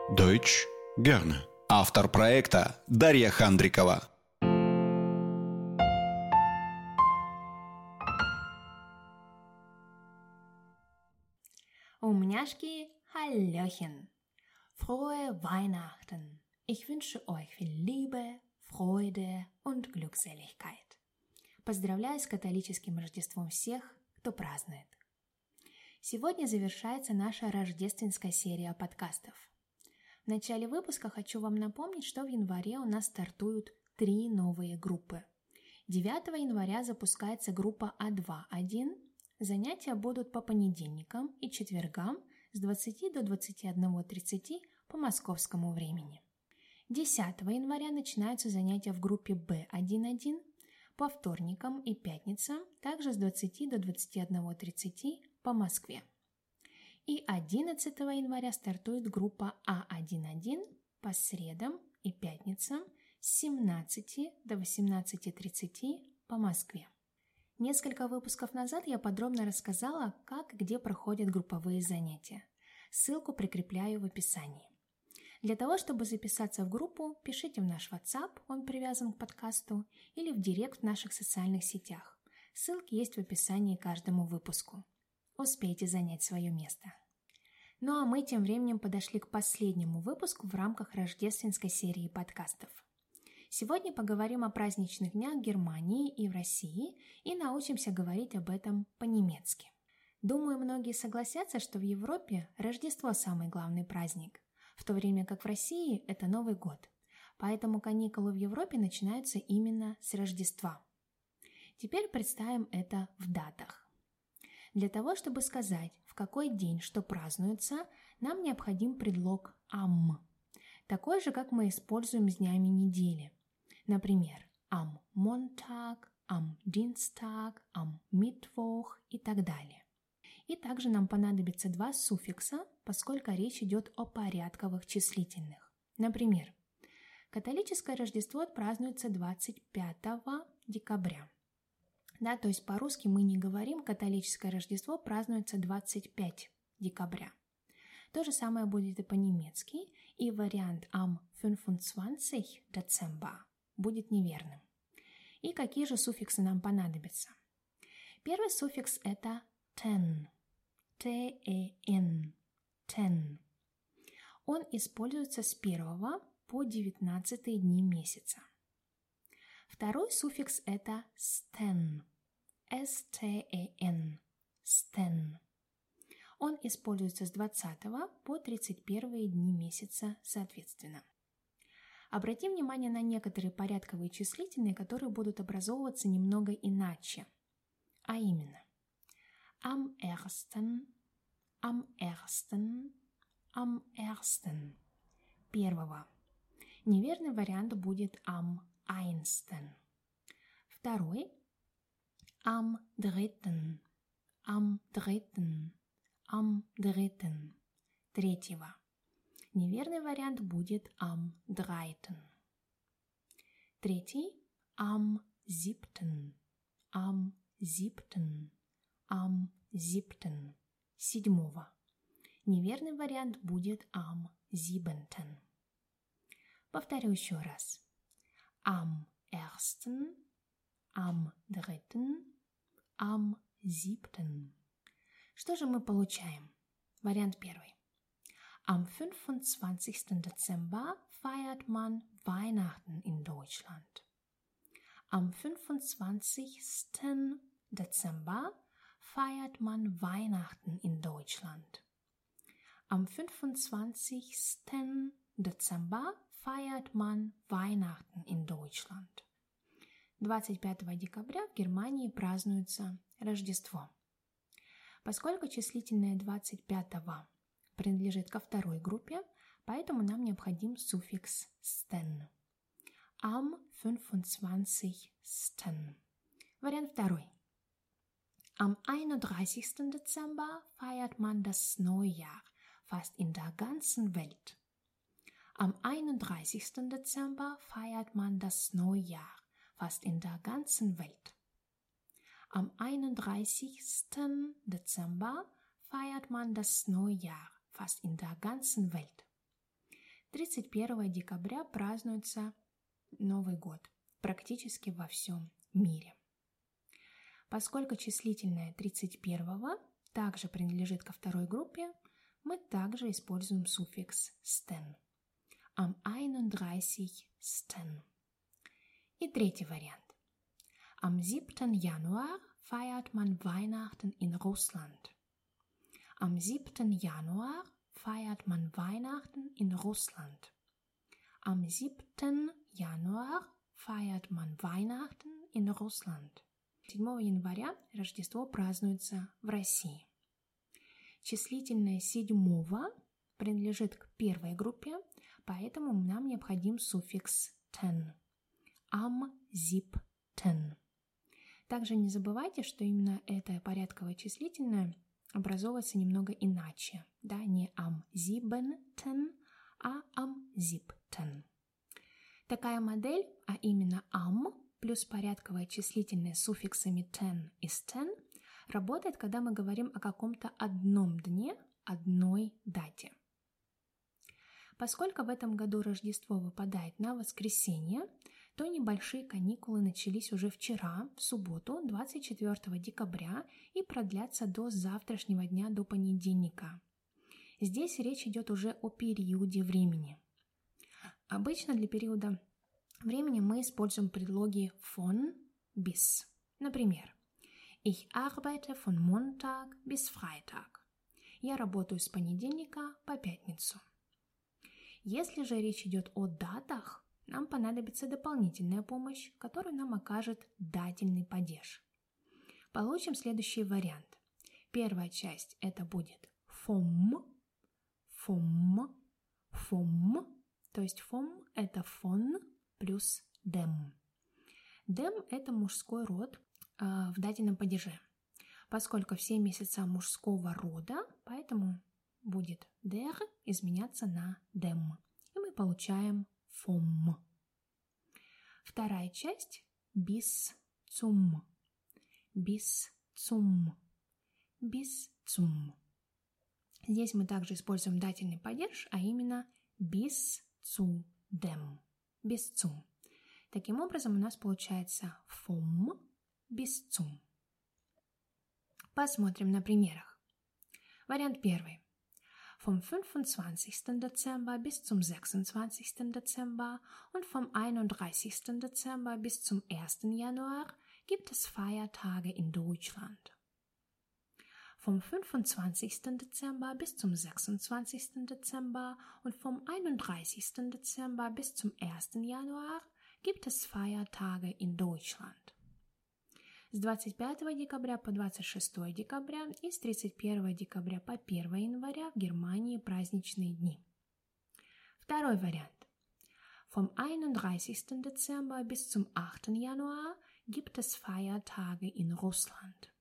Deutsch gerne. Автор проекта Дарья Хандрикова. Умняшки, Hallöchen! Frohe Weihnachten! Ich wünsche euch viel Liebe, Freude und Glückseligkeit. Поздравляю с католическим Рождеством всех, кто празднует. Сегодня завершается наша рождественская серия подкастов. В начале выпуска хочу вам напомнить, что в январе у нас стартуют 3 новые группы. 9 января запускается группа А2-1. Занятия будут по понедельникам и четвергам с 20 до 21:30 по московскому времени. 10 января начинаются занятия в группе Б1-1 по вторникам и пятницам, также с 20 до 21:30 по Москве. И 11 января стартует группа А1-1 по средам и пятницам с 17 до 18:30 по Москве. Несколько выпусков назад я подробно рассказала, как и где проходят групповые занятия. Ссылку прикрепляю в описании. Для того, чтобы записаться в группу, пишите в наш WhatsApp, он привязан к подкасту, или в директ в наших социальных сетях. Ссылки есть в описании к каждому выпуску. Успейте занять свое место. Ну а мы тем временем подошли к последнему выпуску в рамках рождественской серии подкастов. Сегодня поговорим о праздничных днях в Германии и в России и научимся говорить об этом по-немецки. Думаю, многие согласятся, что в Европе Рождество самый главный праздник, в то время как в России это Новый год. Поэтому каникулы в Европе начинаются именно с Рождества. Теперь представим это в датах. Для того, чтобы сказать, в какой день что празднуется, нам необходим предлог «am», такой же, как мы используем с днями недели. Например, am Montag, am Dienstag, am Mittwoch и так далее. И также нам понадобится 2 суффикса, поскольку речь идет о порядковых числительных. Например, католическое Рождество празднуется 25 декабря. Да, то есть по-русски мы не говорим, католическое Рождество празднуется 25 декабря. То же самое будет и по-немецки, и вариант am 25 Dezember будет неверным. И какие же суффиксы нам понадобятся? Первый суффикс – это ten, ten, ten. Он используется с 1 по 19 дни месяца. Второй суффикс – это sten, S-T-E-N, sten. Он используется с 20 по 31 дни месяца соответственно. Обратим внимание на некоторые порядковые числительные, которые будут образовываться немного иначе. А именно am ersten, am ersten, am ersten. Первого. Неверный вариант будет am einsten. Второй am dritten, am dritten, am dritten. Третьего. Неверный вариант будет am dreiten. Третий am siebten, am siebten, am siebten. Седьмого. Неверный вариант будет am siebenten. Повторю еще раз. Am ersten, am dritten, am siebten. Что же мы получаем? Вариант первый. Am 25. Dezember feiert man Weihnachten in Deutschland. Am 25. Dezember feiert man Weihnachten in Deutschland. Am 25. Dezember feiert man Weihnachten in Deutschland. 25 декабря в Германии празднуется Рождество. Поскольку числительное 25 принадлежит ко второй группе, поэтому нам необходим суффикс «sten». Am 25. Вариант второй. Am 31. Dezember feiert man das Neujahr fast in der ganzen Welt. Am 31. Dezember feiert man das Neujahr fast in der ganzen Welt. Am 31. Dezember feiert man das Neujahr fast in der ganzen Welt. 31 декабря празднуется Новый год практически во всем мире. Поскольку числительное 31 также принадлежит ко второй группе, мы также используем суффикс «sten». Am 31. И третий вариант. Am 7. Januar feiert man Weihnachten in Russland. Am 7. Januar feiert man Weihnachten in Russland. Am 7. Januar feiert man Weihnachten in Russland. 7 января Рождество празднуется в России. Числительное 7 принадлежит к первой группе, поэтому нам необходим суффикс «ten». Am 7. Также не забывайте, что именно это порядковое числительное образовывается немного иначе. Да, не am 7, а am 7. Такая модель, а именно am плюс порядковое числительное с суффиксами ten и sten, работает, когда мы говорим о каком-то одном дне, одной дате. Поскольку в этом году Рождество выпадает на воскресенье, то небольшие каникулы начались уже вчера, в субботу, 24 декабря, и продлятся до завтрашнего дня, до понедельника. Здесь речь идет уже о периоде времени. Обычно для периода времени мы используем предлоги von bis. Например, Ich arbeite von Montag bis Freitag. Я работаю с понедельника по пятницу. Если же речь идет о датах, нам понадобится дополнительная помощь, которую нам окажет дательный падеж. Получим следующий вариант. Первая часть это будет vom, то есть vom это von плюс dem. Dem это мужской род в дательном падеже. Поскольку все месяца мужского рода, поэтому будет der изменяться на dem. И мы получаем vom. Вторая часть bis zum. Здесь мы также используем дательный падеж, а именно bis zu dem. Bis zum. Таким образом, у нас получается vom bis zum. Посмотрим на примерах. Вариант первый. Vom 25. Dezember bis zum 26. Dezember und vom 31. Dezember bis zum 1. Januar gibt es Feiertage in Deutschland. Vom 25. Dezember bis zum 26. Dezember und vom 31. Dezember bis zum 1. Januar gibt es Feiertage in Deutschland. С 25 декабря по 26 декабря и с 31 декабря по 1 января в Германии праздничные дни. Второй вариант. Vom 31. Dezember bis zum 8. Januar gibt es Feiertage in Russland.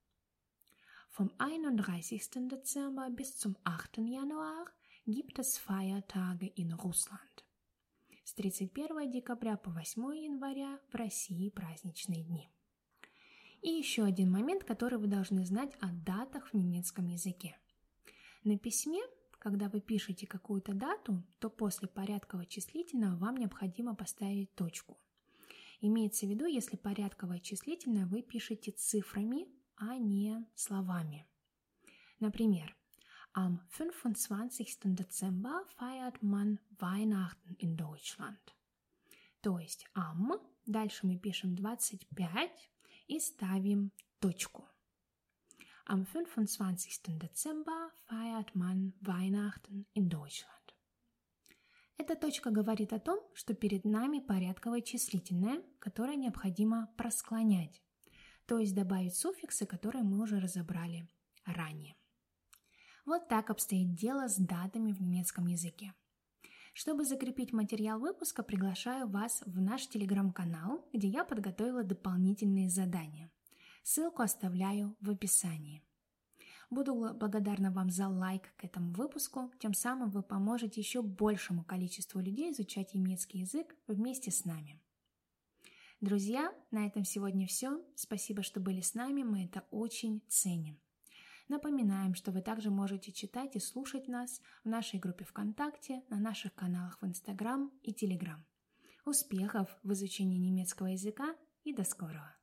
Vom 31. Dezember bis zum 8. Januar gibt es Feiertage in Russland. С 31 декабря по 8 января в России праздничные дни. И еще один момент, который вы должны знать о датах в немецком языке. На письме, когда вы пишете какую-то дату, то после порядкового числительного вам необходимо поставить точку. Имеется в виду, если порядковое числительное вы пишете цифрами, а не словами. Например, am 25. Dezember feiert man Weihnachten in Deutschland. То есть am, дальше мы пишем 25 и ставим точку. Am 25. Dezember feiert man Weihnachten in Deutschland. Эта точка говорит о том, что перед нами порядковое числительное, которое необходимо просклонять, то есть добавить суффиксы, которые мы уже разобрали ранее. Вот так обстоит дело с датами в немецком языке. Чтобы закрепить материал выпуска, приглашаю вас в наш телеграм-канал, где я подготовила дополнительные задания. Ссылку оставляю в описании. Буду благодарна вам за лайк к этому выпуску, тем самым вы поможете еще большему количеству людей изучать немецкий язык вместе с нами. Друзья, на этом сегодня все. Спасибо, что были с нами, мы это очень ценим. Напоминаем, что вы также можете читать и слушать нас в нашей группе ВКонтакте, на наших каналах в Инстаграм и Телеграм. Успехов в изучении немецкого языка и до скорого!